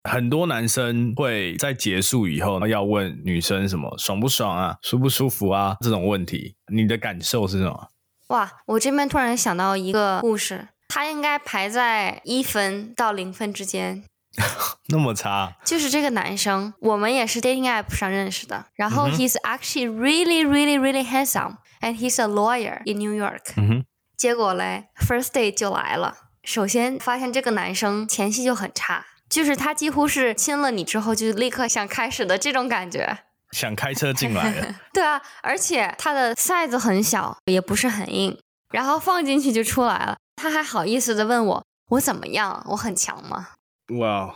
很多男生会在结束以后要问女生什么爽不爽啊，舒不舒服啊这种问题，你的感受是什么？ 哇，我这边突然想到一个故事，他应该排在1分到0分之间。 那么差？ 就是这个男生，我们也是 dating app 上认识的，然后he's actually really really really handsome and he's a lawyer in New York。结果嘞 first date 就来了，首先发现这个男生前戏就很差，就是他几乎是亲了你之后就立刻想开始的这种感觉， 想开车进来了。 对啊，而且他的 size 很小，也不是很硬，然后放进去就出来了，他还好意思的问我怎么样，我很强吗？ 哇！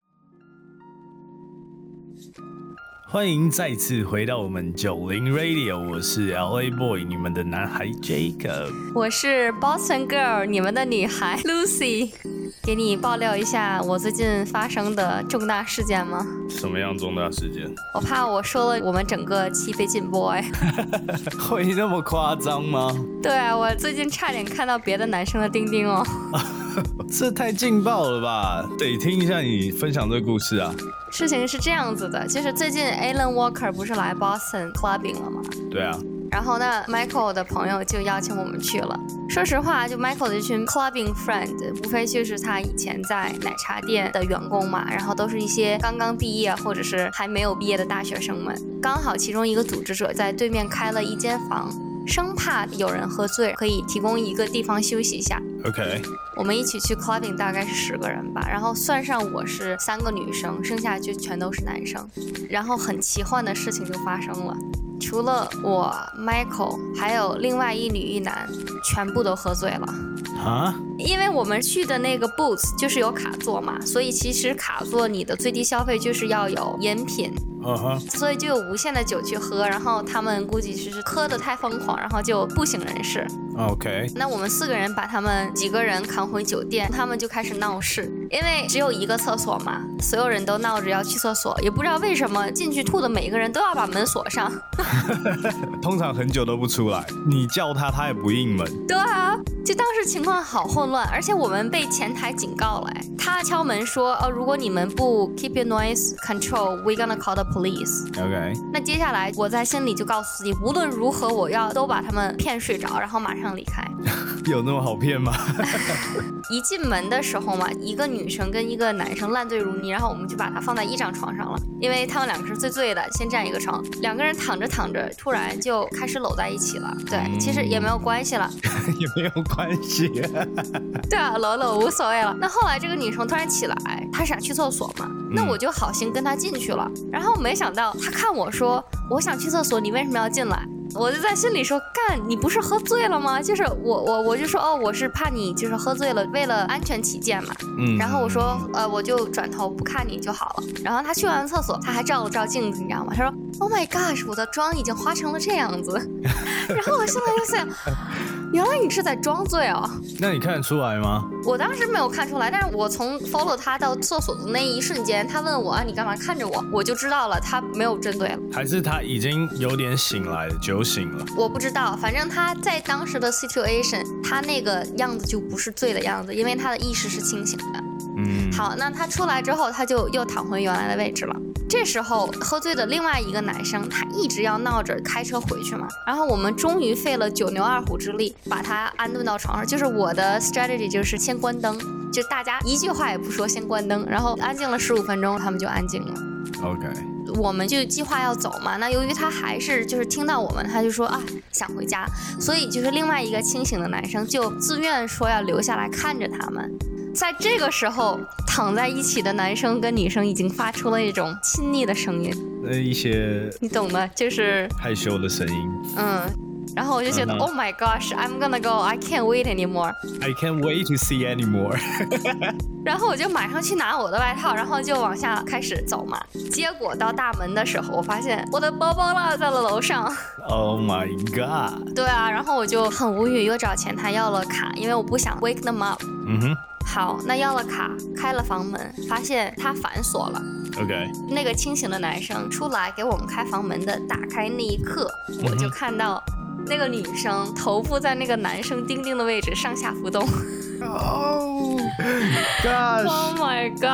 欢迎再次回到我们90 Radio， 我是 LA Boy， 你们的男孩 Jacob， 我是 Boston Girl， 你们的女孩 Lucy。给你爆料一下我最近发生的重大事件吗？ 什么样重大事件？ 我怕我说了我们整个期被禁播哎。 会那么夸张吗？ 对啊，我最近差点看到别的男生的钉钉哦。 这太劲爆了吧，得听一下你分享这个故事啊。 事情是这样子的，就是最近 Alan Walker 不是来 Boston clubbing 了吗？ 对啊。 然后呢 Michael 的朋友就邀请我们去了。说实话，就 Michael 的这群 clubbing friend 无非就是他以前在奶茶店的员工嘛，然后都是一些刚刚毕业或者是还没有毕业的大学生们。刚好其中一个组织者在对面开了一间房，生怕有人喝醉，可以提供一个地方休息一下。 OK， 我们一起去 clubbing 大概是10个人吧，然后算上我是3个女生，剩下就全都是男生。然后很奇幻的事情就发生了，除了我 Michael 还有另外1女1男全部都喝醉了啊！ 因为我们去的那个 booth 就是有卡座嘛，所以其实卡座你的最低消费就是要有饮品，所以就有无限的酒去喝，然后他们估计是喝得太疯狂，然后就不省人事。 OK， 那我们4个人把他们几个人扛回酒店，他们就开始闹事，因为只有一个厕所嘛，所有人都闹着要去厕所，也不知道为什么进去吐的每一个人都要把门锁上。 通常很久都不出来，你叫他他也不应门。 对啊，就当时情况好混乱，而且我们被前台警告了，他敲门说如果你们不 keep your noise control we're gonna call the police。 OK， 那接下来我在心里就告诉自己，无论如何我要都把他们骗睡着，然后马上离开。 有那么好骗吗？ 一进门的时候嘛，一个女生跟一个男生烂醉如泥，然后我们就把他放在一张床上了，因为他们2个是最醉的，先占一个床，2个人躺着躺着突然就开始搂在一起了。对，其实也没有关系了。 也没有关系。 对啊，搂无所谓了。那后来这个女生突然起来，她想去厕所嘛，那我就好心跟她进去了，然后没想到她看我说我想去厕所，你为什么要进来？我就在心里说，干，你不是喝醉了吗？就是我就说我是怕你就是喝醉了，为了安全起见嘛。然后我说我就转头不看你就好了。然后他去完厕所，他还照了照镜子，你知道吗？他说 Oh my gosh， 我的妆已经花成了这样子。然后我现在就想，原来你是在装醉哦。 那你看得出来吗？ 我当时没有看出来，但是我从 follow 他到厕所的那一瞬间，他问我你干嘛看着我，我就知道了他没有针对了。还是他已经有点醒来了，酒醒了？ 我不知道，反正他在当时的 situation， 他那个样子就不是醉的样子，因为他的意识是清醒的。好，那他出来之后，他就又躺回原来的位置了。这时候喝醉的另外一个男生，他一直要闹着开车回去嘛，然后我们终于费了9牛2虎之力把他安顿到床上。就是我的 strategy 就是先关灯，就大家一句话也不说，先关灯，然后安静了15分钟，他们就安静了。 OK， 我们就计划要走嘛，那由于他还是就是听到我们，他就说想回家，所以就是另外一个清醒的男生就自愿说要留下来看着他们。在这个时候，躺在一起的男生跟女生已经发出了一种亲昵的声音， 一些你懂的，就是害羞的声音。 然后我就觉得、Oh my gosh, I'm gonna go, I can't wait anymore. I can't wait to see anymore. 然后我就马上去拿我的外套，然后就往下开始走嘛。结果到大门的时候，我发现我的包包落在了楼上。 Oh my god. 对啊，然后我就很无语，又找前台要了卡，因为我不想 wake them up。好，那要了卡，开了房门，发现他反锁了。 OK， 那个清醒的男生出来给我们开房门的，打开那一刻，我就看到那个女生头部在那个男生钉钉的位置上下浮动。 Oh gosh! Oh my gosh!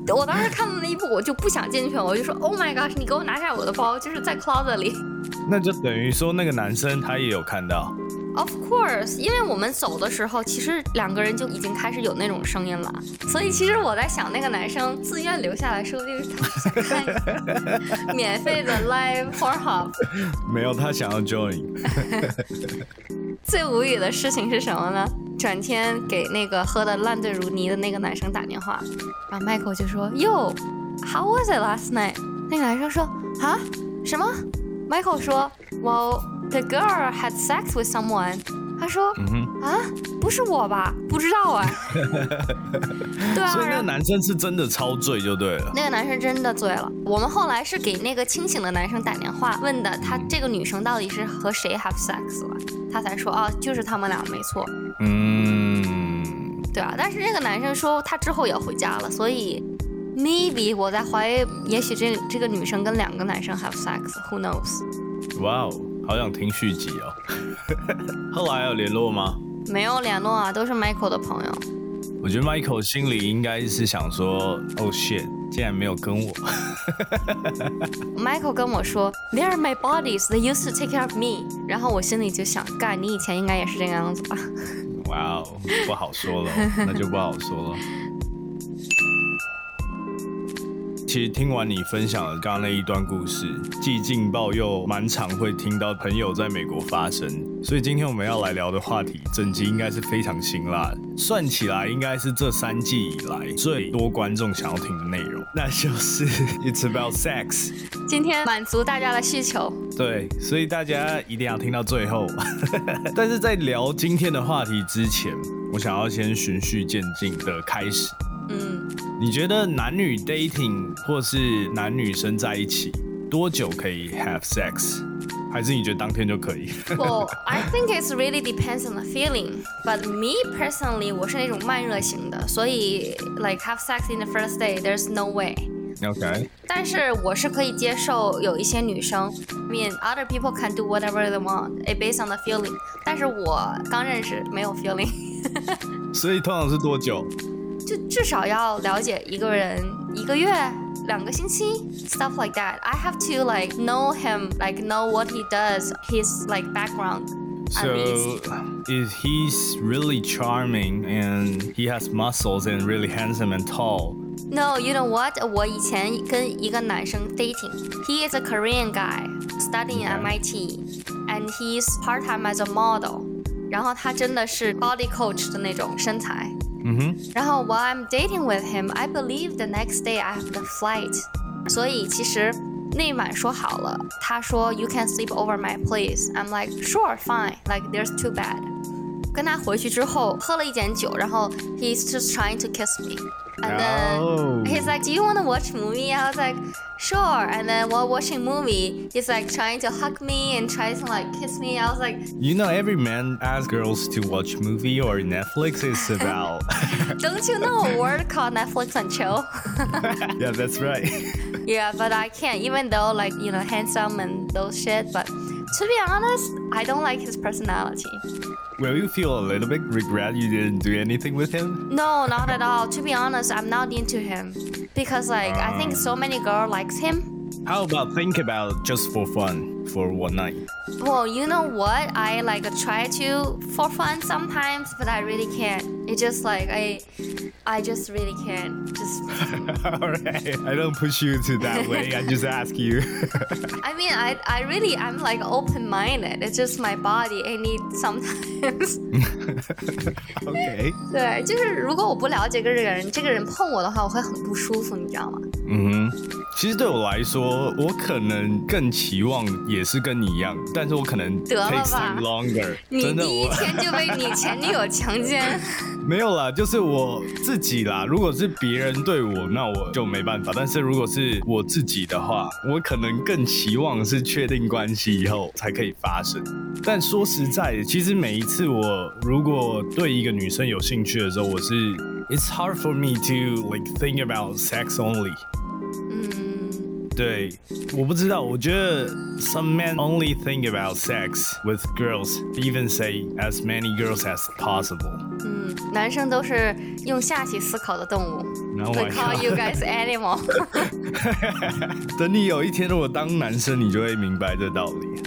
我当时看到那一步，我就不想进去了，我就说 Oh my gosh， 你给我拿下我的包，就是在 closet 里。 那就等于说那个男生他也有看到。 Of course， 因为我们走的时候，其实2个人就已经开始有那种声音了，所以其实我在想，那个男生自愿留下来，说不定是他想看免费的 live Pornhub。 没有，他想要 join。 最无语的事情是什么呢？转天给那个喝得烂醉如泥的那个男生打电话，然后 Michael 就说 Yo，how was it last night？ 那个男生说啊什么 ？Michael 说 Well，the girl had sex with someone。他说啊，不是我吧？不知道啊。对啊， 所以那个男生是真的超醉就对了。 那个男生真的醉了。我们后来是给那个清醒的男生打电话，问的他这个女生到底是和谁 have sex 了，他才说哦，就是他们俩没错。对啊，但是这个男生说他之后也回家了，所以 maybe 我在怀疑，也许这个女生跟2个男生 have sex，who knows？ 哇哦，好想听续集哦。后来有联络吗？ 没有联络啊，都是 Michael 的朋友。 我觉得 Michael 心里应该是想说 ，Oh shit， 竟然没有跟我。 Michael 跟我说 ，They are my bodies, they used to take care of me。然后我心里就想，干，你以前应该也是这个样子吧？ 哇哦，不好说了，那就不好说了。其实听完你分享的刚刚那一段故事，既劲爆又蛮常会听到朋友在美国发生，所以今天我们要来聊的话题，整集应该是非常辛辣的，算起来应该是这3季以来最多观众想要听的内容，那就是 It's about sex。 今天满足大家的需求， 对，所以大家一定要听到最后。但是在聊今天的话题之前，我想要先循序渐进的开始。你觉得男女 dating 或是男女生在一起多久可以 have sex？ 还是你觉得当天就可以？ Well, I think it really depends on the feeling. But me personally， 我是那种慢热型的，所以 like have sex in the first day, there's no way. OK。 但是我是可以接受有一些女生 I mean, other people can do whatever they want, it based on the feeling. 但是我刚认识没有 feeling. 所以通常是多久？ 就至少要了解一个人1个月、2个星期 stuff like that. I have to like know him, like know what he does, his like background. So if he's really charming and he has muscles and really handsome and tall. No, you know what? 我以前跟一个男生 dating. He is a Korean guy studying at MIT, and he's part-time as a model. 然后他真的是 body coach 的那种身材。然后 while I'm dating with him, I believe the next day I have the flight. 所以其实那晚说好了，他说 You can sleep over my place. I'm like sure, fine. Like there's too bad. 跟他回去之后喝了一点酒，然后 he's just trying to kiss me. And then he's like, Do you want to watch movie? I was like, Sure. And then while watching movie, he's like trying to hug me and try to like kiss me. I was like, You know, every man asks girls to watch movie or Netflix is about. Don't you know a word called Netflix and chill? Yeah, that's right. Yeah, but I can't, even though like, you know, handsome and those shit. But to be honest, I don't like his personality. Will you feel a little bit regret you didn't do anything with him? No, not at all. To be honest, I'm not into him. Because like, I think so many girls likes him. How about think about just for fun for one night? Well, you know what? I like try to for fun sometimes, but I really can't. It's just like, I just really can't. Just. Alright, I don't push you to that way, I just ask you. I mean, I really, I'm like open-minded. It's just my body, I need sometimes. OK. 对，就是如果我不了解这个人，这个人碰我的话，我会很不舒服，你知道吗？ 其实对我来说，我可能更期望也是跟你一样，但是我可能 takes time longer。 你第一天就被你前女友强奸？ 没有啦，就是我自己啦。如果是别人对我，那我就没办法。但是如果是我自己的话，我可能更期望是确定关系以后才可以发生。但说实在的，其实每一次我如果对一个女生有兴趣的时候，我是 It's hard for me to like think about sex only。 对，我不知道，我觉得 some men only think about sex with girls, even say as many girls as possible. 男生都是用下体思考的动物。 Oh my We call God. you guys animal. 等你有一天如果当男生，你就会明白这道理。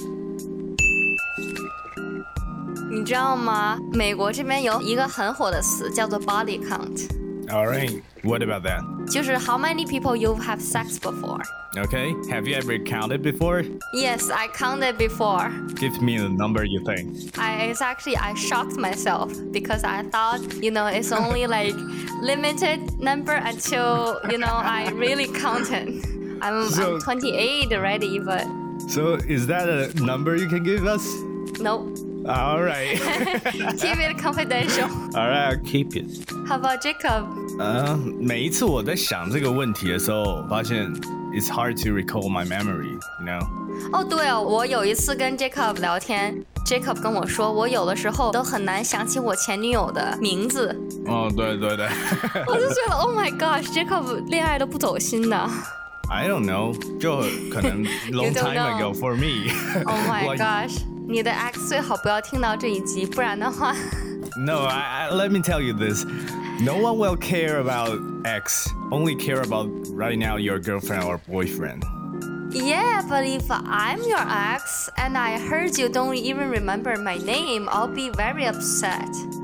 你知道吗？美国这边有一个很火的词叫做 body count。All right, what about that? 就是 how many people you have sex before. Okay, have you ever counted before? Yes, I counted before. Give me the number you think. I shocked myself because I thought, it's only like limited number until, I really counted. I'm 28 already, but... So is that a number you can give us? Nope. All right. Keep it confidential. All right, I'll keep it. How about Jacob? 每一次我在想这个问题的时候，发现 it's hard to recall my memory, you know? 哦，对哦，我有一次跟 Jacob 聊天 ，Jacob 跟我说，我有的时候都很难想起我前女友的名字。 哦，对对对。 我就觉得 ，Oh my gosh，Jacob 恋爱都不走心的。 I don't know， 就可能 long time ago for me. Oh my gosh， 你的 ex 最好不要听到这一集，不然的话。 No, let me tell you this. No one will care about ex. Only care about right now your girlfriend or boyfriend. Yeah, but if I'm your ex and I heard you don't even remember my name, I'll be very upset.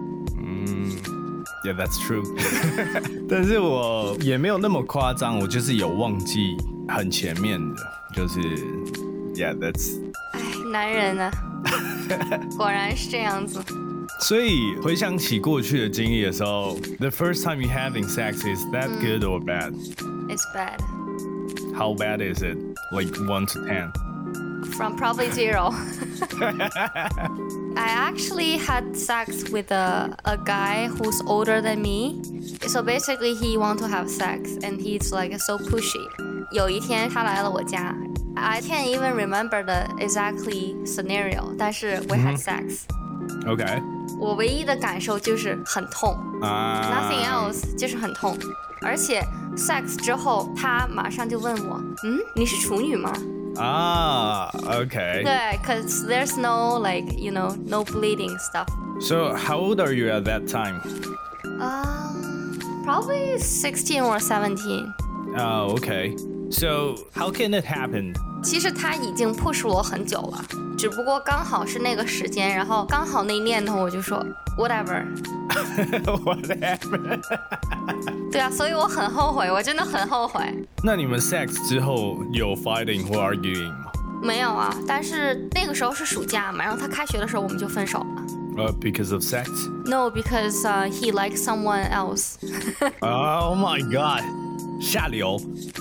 Yeah, that's true. 但是我也没有那么夸张，我就是有忘记很前面的，就是 Yeah, that's. 哎，男人啊，果然是这样子。 所以回想起过去的经历的时候 the first time you having sex, is that good or bad? It's bad. How bad is it? Like 1 to 10? From probably 0. I actually had sex with a guy who's older than me. So basically he want to have sex and he's like so pushy. 有一天他来了我家 I can't even remember the exactly scenario, 但是 we had sex. Okay. 我唯一的感受就是很痛 Nothing else 就是很痛而且 sex 之后他马上就问我你是处女吗 okay. 对 cause there's no like no bleeding stuff. So how old are you at that time? Probably 16 or 17. Oh, okay. So how can it happen? 其实他已经 push 我很久了只不过刚好是那个时间然后刚好那念头我就说 whatever. Whatever. 对啊所以我很后悔我真的很后悔那你们 sex 之后有 fighting 或 arguing 吗没有啊但是那个时候是暑假嘛然后他开学的时候我们就分手了 because of sex? No, because he likes someone else. Oh my god. 下流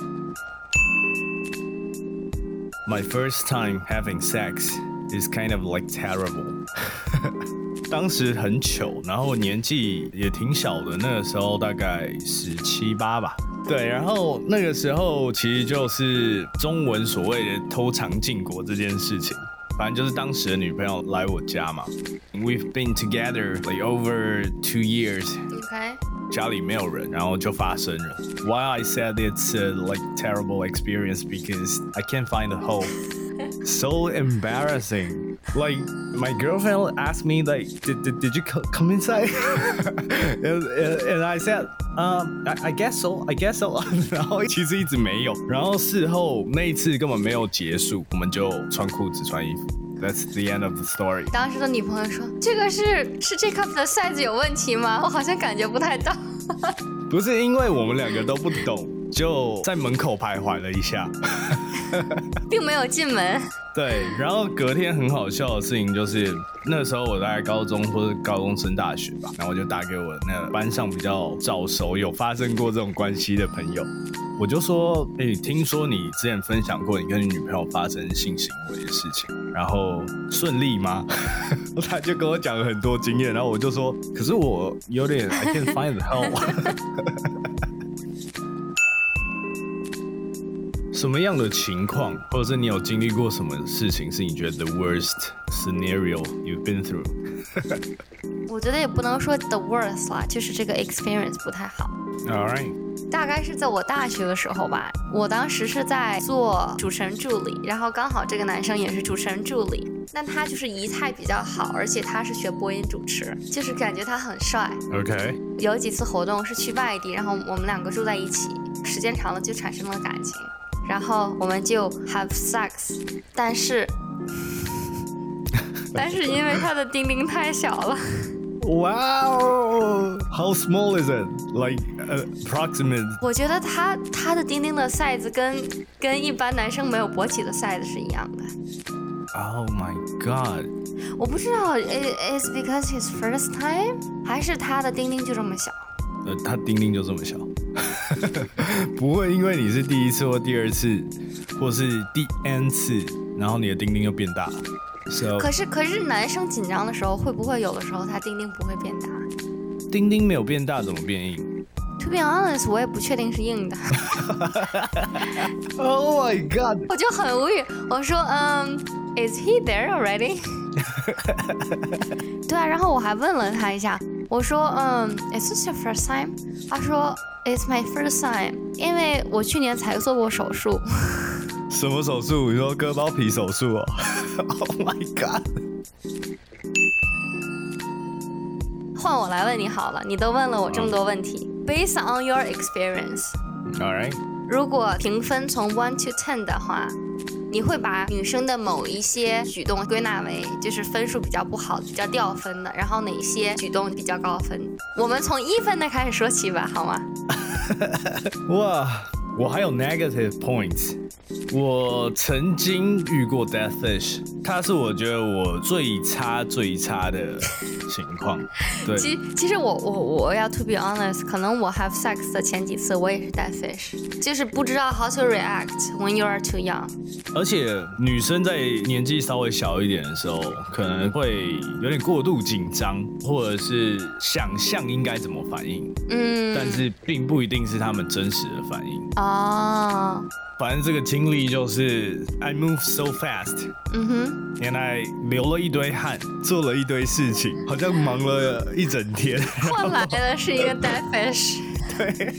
My first time having sex is kind of like terrible. 当时很糗，然后年纪也挺小的，那个时候大概17、18吧。对，然后那个时候其实就是中文所谓的偷尝禁果这件事情。反正就是当时的女朋友来我家嘛 We've been together like over 2 years. Okay. 家里没有人，然后就发生了。Why I said it's a like terrible experience because I can't find a hole. So embarrassing. Like my girlfriend asked me like, did you come inside? and I said, I guess so. I guess so. 然后其实一直没有。然后事后那一次根本没有结束，我们就穿裤子穿衣服。That's the end of the story. 当时的女朋友说：“这个是 Jacob 的 size 有问题吗？我好像感觉不太到。” 不是因为我们两个都不懂，就在门口徘徊了一下， 并没有进门。 对，然后隔天很好笑的事情就是，那时候我在高中或者高中升大学吧，然后我就打给我那个班上比较早熟有发生过这种关系的朋友，我就说，听说你之前分享过你跟你女朋友发生性行为的事情，然后顺利吗？他就跟我讲了很多经验，然后我就说，可是我有点 I can't find the hell 。什么样的情况，或者是你有经历过什么事情，是你觉得 the worst scenario you've been through？ 我觉得也不能说 the worst 啦，就是这个 experience 不太好。 All right. 大概是在我大学的时候吧，我当时是在做主持人助理，然后刚好这个男生也是主持人助理，那他就是仪态比较好，而且他是学播音主持，就是感觉他很帅。 OK， 有几次活动是去外地，然后我们两个住在一起，时间长了就产生了感情，然后我们就 have sex， 但是因为他的丁丁太小了。 Wow, how small is it? Like approximate? 我觉得他的丁丁的 size 跟一般男生没有勃起的 size 是一样的。 Oh my god！ 我不知道 is because his first time， 还是他的丁丁就这么小？ 他丁丁就这么小，不会因为你是第一次或第二次，或是第 n 次，然后你的丁丁就变大了。So, 可是男生紧张的时候，会不会有的时候他丁丁不会变大？ 丁丁没有变大，怎么变硬 To be honest， 我也不确定是硬的。 Oh my god！ 我就很无语，我说Is he there already？ 对啊，然后我还问了他一下，我说Is this your first time？ 他说 It's my first time， 因为我去年才做过手术。 什么手术？你说割包皮手术哦？Oh my god！ 换我来问你好了，你都问了我这么多问题。Based on your experience， All right， 如果评分从1 to 10的话，你会把女生的某一些举动归纳为就是分数比较不好、比较掉分的，然后哪些举动比较高分？我们从1分的开始说起吧，好吗？ 哇，我还有 negative points。我曾经遇过 death fish， 它是我觉得我最差的情况。对， 其实我要 to be honest， 可能我 have sex 的前几次我也是 death fish， 就是不知道 how to react when you are too young。 而且女生在年纪稍微小一点的时候，可能会有点过度紧张，或者是想象应该怎么反应，但是并不一定是他们真实的反应。 哦。 反正这个经历就是 I move so fast， and I 流了一堆汗，做了一堆事情，好像忙了一整天， 换来的是一个 dead fish。 对。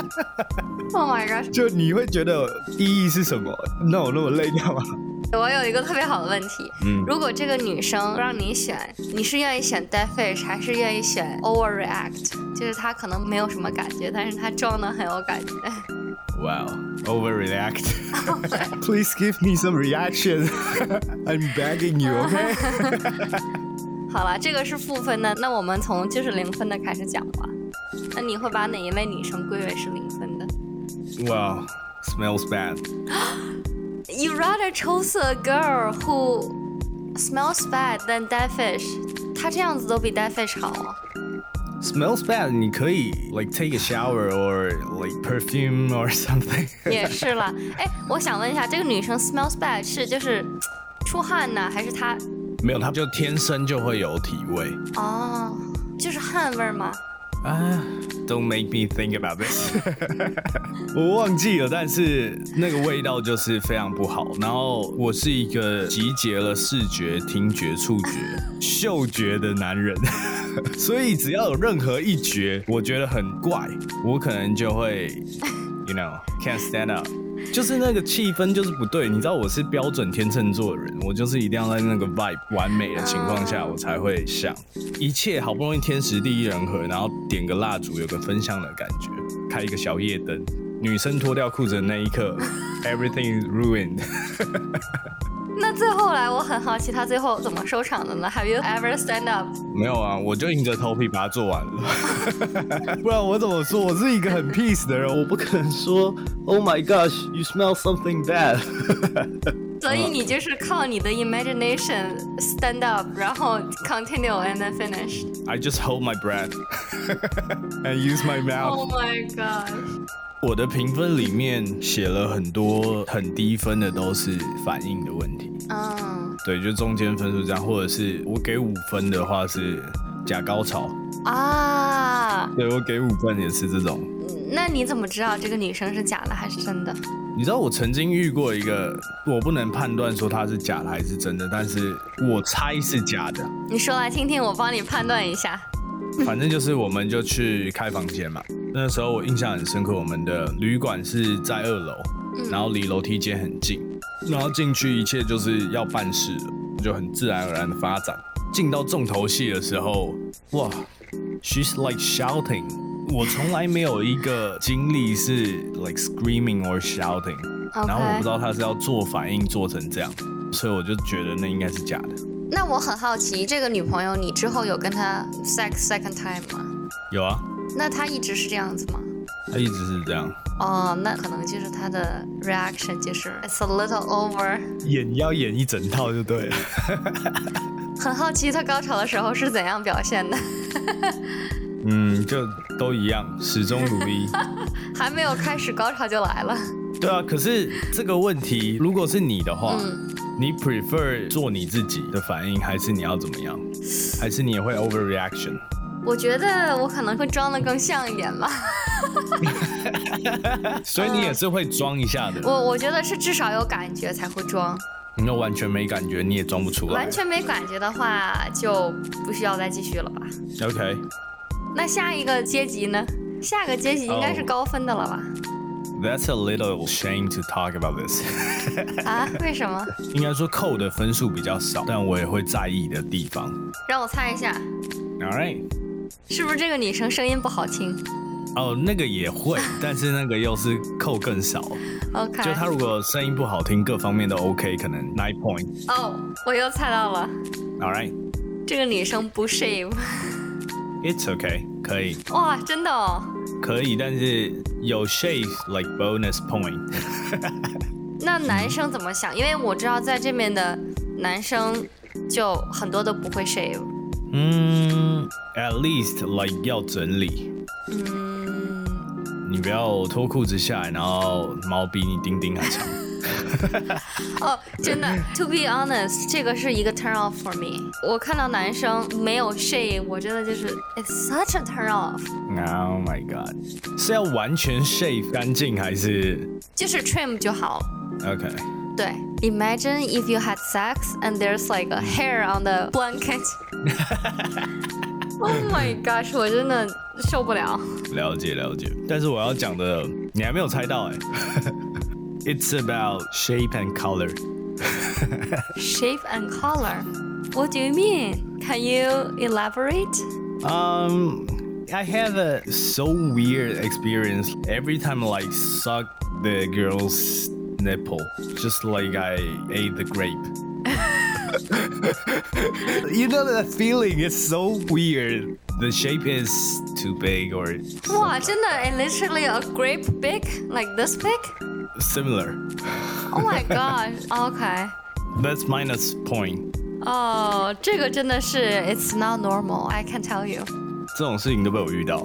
Oh my god！ 就你会觉得意义是什么？那我那么累干嘛？ 我有一个特别好的问题，如果这个女生让你选，你是愿意选 dead fish 还是愿意选 overreact？ 就是她可能没有什么感觉，但是她装得很有感觉。 Wow, overreact. Please give me some reaction. I'm begging you, OK? 好了，这个是负分的，那我们从就是0分的开始讲吧。那你会把哪一位女生归为是0分的？ Wow, smells bad. You rather chose a girl who smells bad than dead fish. 她这样子都比 dead fish 好哦。 Smells bad， 你可以 like take a shower or like perfume or something 。 也是啦，哎，我想问一下，这个女生 smells bad 是就是出汗呢，还是她？ 没有，她就天生就会有体味。 哦，就是汗味吗 ？Don't make me think about this 。我忘记了，但是那个味道就是非常不好。然后我是一个集结了视觉、听觉、触觉、嗅觉的男人。所以只要有任何一觉我觉得很怪，我可能就会 you know can't stand up， 就是那个气氛就是不对。你知道我是标准天秤座的人，我就是一定要在那个 vibe 完美的情况下我才会想，一切好不容易天时地利人和，然后点个蜡烛有个分享的感觉，开一个小夜灯，女生脱掉裤子的那一刻everything is ruined 那最后来，我很好奇他最后怎么收场的呢 ？Have you ever stand up？ 没有啊，我就硬着头皮把它做完了。不然我怎么说？我是一个很 peace 的人，我不可能说 Oh my gosh, you smell something bad 。 所以你就是靠你的 imagination stand up， 然后 continue and then finish。 I just hold my breath and use my mouth. Oh my god！ 我的评分里面写了很多很低分的，都是反应的问题。对，就中间分数这样，或者是我给5分的话是假高潮啊。对，我给5分也是这种。 那你怎么知道这个女生是假的还是真的？ 你知道我曾经遇过一个，我不能判断说她是假的还是真的，但是我猜是假的。 你说来听听，我帮你判断一下。 反正就是我们就去开房间嘛， 那时候我印象很深刻，我们的旅馆是在2楼，然后离楼梯间很近，然后进去一切就是要办事了，就很自然而然的发展。进到重头戏的时候，哇 ，she's like shouting。我从来没有一个经历是 like screaming or shouting， 然后我不知道她是要做反应做成这样，所以我就觉得那应该是假的。 那我很好奇，这个女朋友你之后有跟她 sex second time 吗？ 有啊。 那她一直是这样子吗？ 她一直是这样。 哦，那可能就是她的 reaction 就是 it's a little over。 要演一整套就对了。 很好奇她高潮的时候是怎样表现的。 就都一样，始终如一。 还没有开始高潮就来了。 对啊，可是这个问题，如果是你的话，你 prefer 做你自己的反应，还是你要怎么样？还是你也会 overreaction？ 我觉得我可能会装得更像一点吧。 所以你也是会装一下的。 我觉得是至少有感觉才会装。 你要完全没感觉，你也装不出来。 完全没感觉的话，就不需要再继续了吧。 OK。 那下一个阶级呢？下个阶级应该是高分的了吧 ？That's a little shame to talk about this 。 啊？为什么？ 应该说扣的分数比较少，但我也会在意的地方。 让我猜一下。 All right。 是不是这个女生声音不好听？ 哦，那个也会，但是那个又是扣更少。 OK。 就她如果声音不好听，各方面都 OK， 可能9 point。 哦，我又猜到了。 All right。 这个女生不 shave。It's okay， 可以。 哇，真的哦。 可以，但是有 shave like bonus point。 那男生怎么想？因为我知道在这边的男生就很多都不会 shave。 At least like 要整理。你不要脱裤子下来，然后毛比你丁丁还长。 哦，真的 ，to be honest， 这个是一个 turn off for me。我看到男生没有 shave， 我真的就是 it's such a turn off。Oh my god， 是要完全 shave 干净还是？ 就是 trim 就好了。 OK。 对 ，Imagine if you had sex and there's like a hair on the blanket 。Oh my gosh， 我真的受不了。 了解，但是我要讲的你还没有猜到哎。It's about shape and color. Shape and color? What do you mean? Can you elaborate? I have a so weird experience every time I like suck the girl's nipple, just like I ate the grape. You know that feeling? It's so weird. The shape is too big or... Wow, 真的 and literally a grape big? Like this big? Similar. Oh my god. Okay. That's minus point. 哦，这个真的是 it's not normal. I can tell you. 这种事情都被我遇到。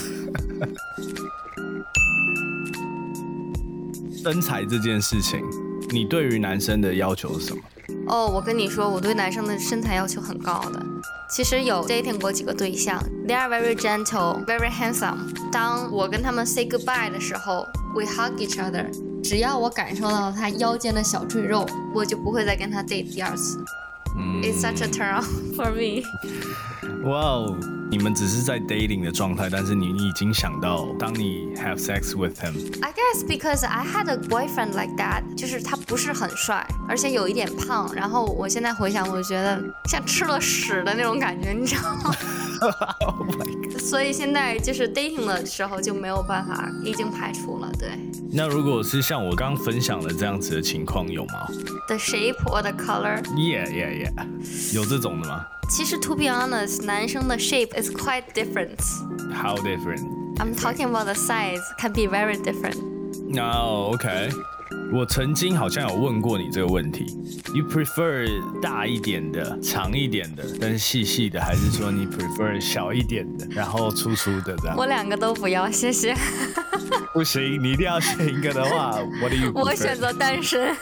身材这件事情，你对于男生的要求是什么？ 哦，我跟你说，我对男生的身材要求很高的。其实有 dating 过几个对象 ，they are very gentle, very handsome。当我跟他们 say goodbye 的时候 ，we hug each other。只要我感受到他腰间的小赘肉，我就不会再跟他 date 第二次。It's such a turn on for me. 哇哦，你们只是在 dating 的状态，但是你已经想到，当你 have sex with him。 I guess because I had a boyfriend like that， 就是他不是很帅，而且有一点胖。然后我现在回想，我觉得像吃了屎的那种感觉，你知道吗？ Oh my god！ 所以现在就是 dating 的时候就没有办法，已经排除了。对。 那如果是像我刚分享的这样子的情况，有吗 ？The shape or the color? Yeah. 有这种的吗？ 其实 to be honest， 男生的 shape is quite different. How different? I'm talking about the size can be very different. Oh, okay. 我曾经好像有问过你这个问题 ，You prefer 大一点的、长一点的，但是细细的，还是说你 prefer 小一点的，然后粗粗的这样？ 我两个都不要，谢谢。 不行，你一定要选一个的话，What do you prefer？ 我选择单身。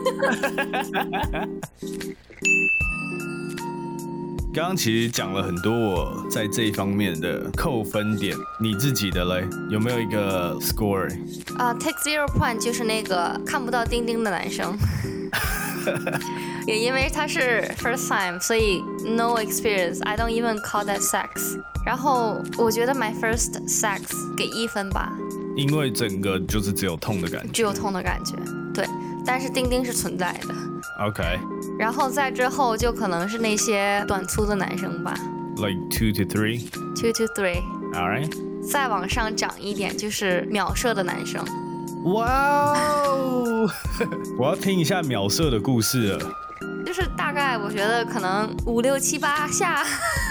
刚刚其实讲了很多我在这一方面的扣分点，你自己的嘞，有没有一个 score？ take 0 point 就是那个看不到丁丁的男生。 也因为它是 first time， 所以 no experience. I don't even call that sex. 然后我觉得 my first sex 给1分吧， 因为整个就是只有痛的感觉， 只有痛的感觉，对。但是丁丁是存在的。 OK。 然后在之后就可能是那些短粗的男生吧。 Like 2 to 3. 2 to 3. Alright. 再往上涨一点就是秒射的男生。 哇哦！我要听一下秒射的故事了。 就是大概我觉得可能5、6、7、8下。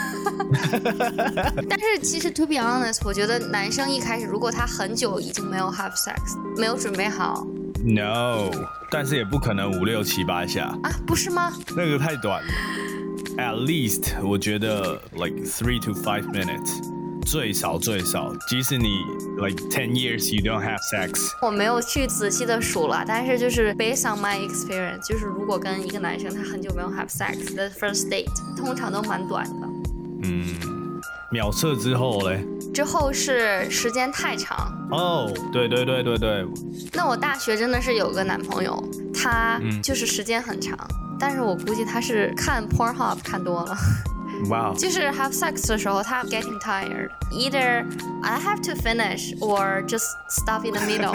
但是其实 to be honest， 我觉得男生一开始如果他很久已经没有 have sex， 没有准备好 ，no， 但是也不可能5、6、7、8下啊，不是吗？ 那个太短了。At least 我觉得 like 3 to 5 minutes， 最少，即使你 like 10 years you don't have sex。 我没有去仔细的数了，但是就是 based on my experience， 就是如果跟一个男生他很久没有 have sex， the first date 通常都蛮短的。 秒射之后嘞？ 之后是时间太长。 哦，对。 那我大学真的是有个男朋友，他就是时间很长，但是我估计他是看 Pornhub 看多了。 哇、wow. 就是 have sex 的时候，他 getting tired. Either I have to finish or just stop in the middle.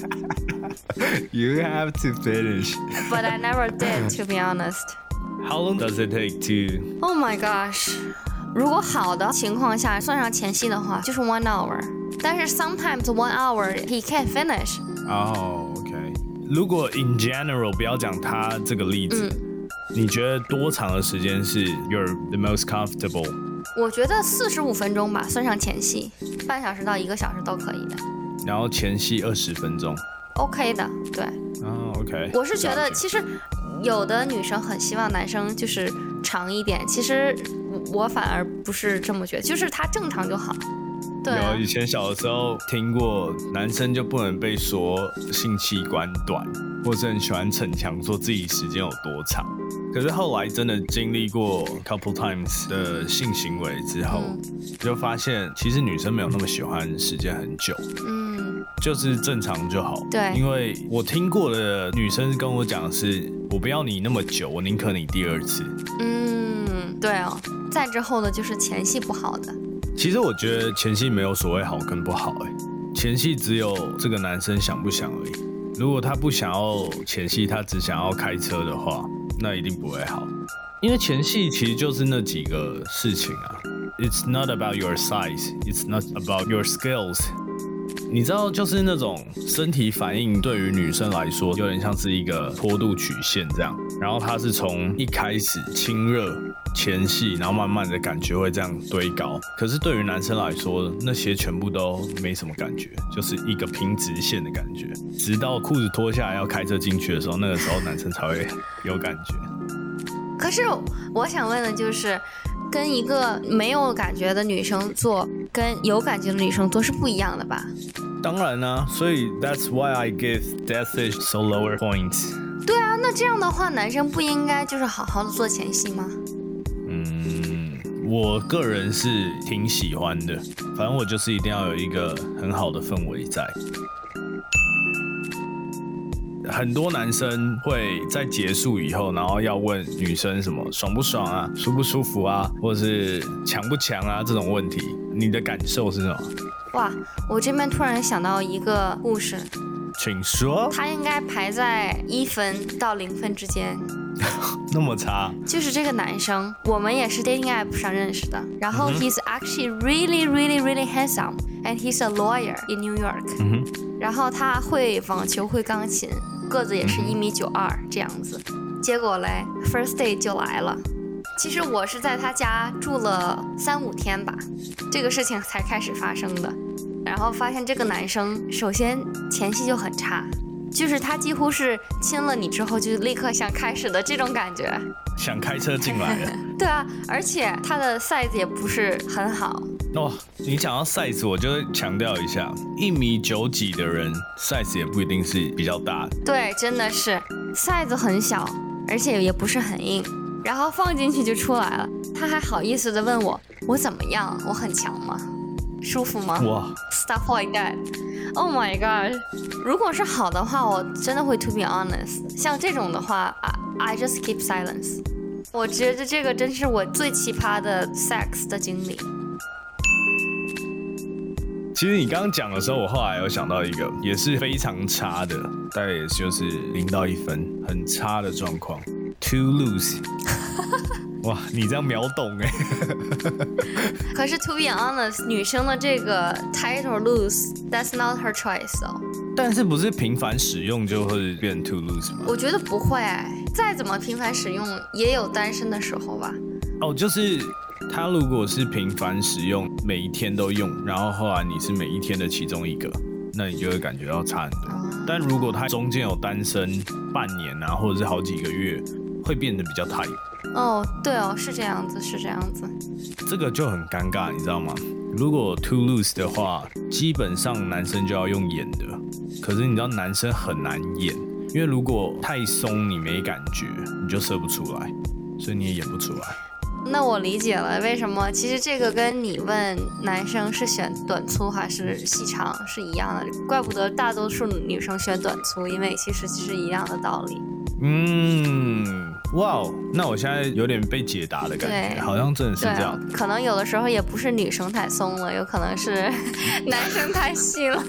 You have to finish. But I never did, to be honest. How long does it take to? Oh my gosh. 如果好的情况下，算上前戏的话，就是 1 hour. 但是 sometimes 1 hour he can't finish. Oh, okay. 如果 in general 不要讲他这个例子，你觉得多长的时间是 you're the most comfortable？ 我觉得45分钟吧，算上前戏，半小时到1个小时都可以的。 然后前戏20分钟 ，OK 的，对。 哦 ，OK。 我是觉得其实有的女生很希望男生就是长一点，其实我反而不是这么觉得，就是他正常就好。对啊， 有以前小的时候听过，男生就不能被说性器官短，或是很喜欢逞强说自己时间有多长。可是后来真的经历过 couple times 的性行为之后，就发现其实女生没有那么喜欢时间很久，就是正常就好。 对， 因为我听过的女生跟我讲的是，我不要你那么久，我宁可你第2次。 对哦，再之后的就是前戏不好的。 其实我觉得前戏没有所谓好跟不好，前戏只有这个男生想不想而已。如果他不想要前戏，他只想要开车的话，那一定不会好。因为前戏其实就是那几个事情啊。It's not about your size, it's not about your skills。你知道，就是那种身体反应对于女生来说，有点像是一个坡度曲线这样。然后它是从一开始亲热前戏，然后慢慢的感觉会这样堆高。可是对于男生来说，那些全部都没什么感觉，就是一个平直线的感觉。直到裤子脱下来要开车进去的时候，那个时候男生才会有感觉。 可是我想问的就是，跟一个没有感觉的女生做，跟有感觉的女生做是不一样的吧？ 当然啦，所以 that's why I give that fish so lower points。 对啊，那这样的话，男生不应该就是好好的做前戏吗？ 我个人是挺喜欢的，反正我就是一定要有一个很好的氛围在。很多男生会在结束以后，然后要问女生什么爽不爽啊、舒不舒服啊，或者是强不强啊这种问题，你的感受是什么？ 哇，我这边突然想到一个故事， 请说。 他应该排在1分到0分之间。 那么差？ 就是这个男生，我们也是 dating app 上认识的，然后 he's actually really handsome and he's a lawyer in New York。然后他会网球，会钢琴，个子也是1.92米这样子。结果嘞 ，first day 就来了。其实我是在他家住了3、5天吧，这个事情才开始发生的。然后发现这个男生，首先前戏就很差，就是他几乎是亲了你之后就立刻想开始的这种感觉， 想开车进来了。 对啊，而且他的 size 也不是很好。 哦，你讲到 size， 我就会强调一下，1.9米几的人 size 也不一定是比较大的。 对，真的是 size 很小，而且也不是很硬，然后放进去就出来了。他还好意思的问我怎么样？我很强吗？舒服吗？ 哇 ，stuff like that。Oh my god！ 如果是好的话，我真的会 to be honest。像这种的话 I just keep silence。我觉得这个真是我最奇葩的 sex 的经历。 其实你刚刚讲的时候，我后来有想到一个也是非常差的，大概也就是0到1分，很差的状况。Too loose。哇，你这样秒懂哎！ 可是 to be honest， 女生的这个 title loose，that's not her choice 哦。 但是不是频繁使用就会变 too loose 吗？ 我觉得不会，再怎么频繁使用，也有单身的时候吧。 哦，就是他如果是频繁使用，每一天都用，然后后来你是每一天的其中一个，那你就会感觉到差很多。但如果他中间有单身半年啊，或者是好几个月，会变得比较 tight。 哦，对哦，是这样子，是这样子。 这个就很尴尬，你知道吗？如果 too loose 的话，基本上男生就要用演的，可是你知道男生很难演，因为如果太松你没感觉，你就射不出来，所以你也演不出来。 那我理解了为什么，其实这个跟你问男生是选短粗还是细长是一样的，怪不得大多数女生选短粗，因为其实是一样的道理。 哇哦，那我现在有点被解答的感觉，好像真的是这样。 可能有的时候也不是女生太松了，有可能是男生太细了。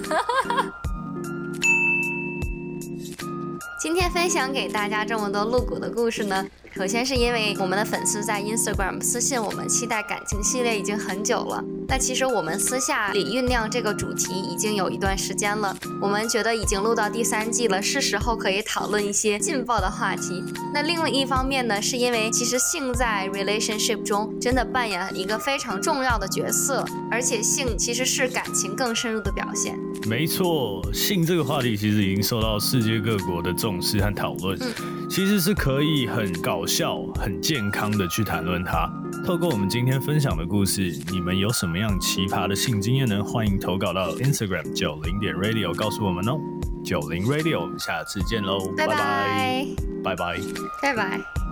今天分享给大家这么多露骨的故事呢，首先是因为我们的粉丝在 Instagram 私信我们期待感情系列已经很久了，那其实我们私下里酝酿这个主题已经有一段时间了，我们觉得已经录到第3季了，是时候可以讨论一些劲爆的话题。那另外一方面呢，是因为其实性在 relationship 中真的扮演一个非常重要的角色，而且性其实是感情更深入的表现。 没错，性这个话题其实已经受到世界各国的重视和讨论，其实是可以很搞笑、很健康的去谈论它。透过我们今天分享的故事，你们有什么样奇葩的性经验呢？欢迎投稿到 Instagram 90.radio 告诉我们哦。90 Radio， 我们下次见喽， 拜拜， 拜拜， 拜拜。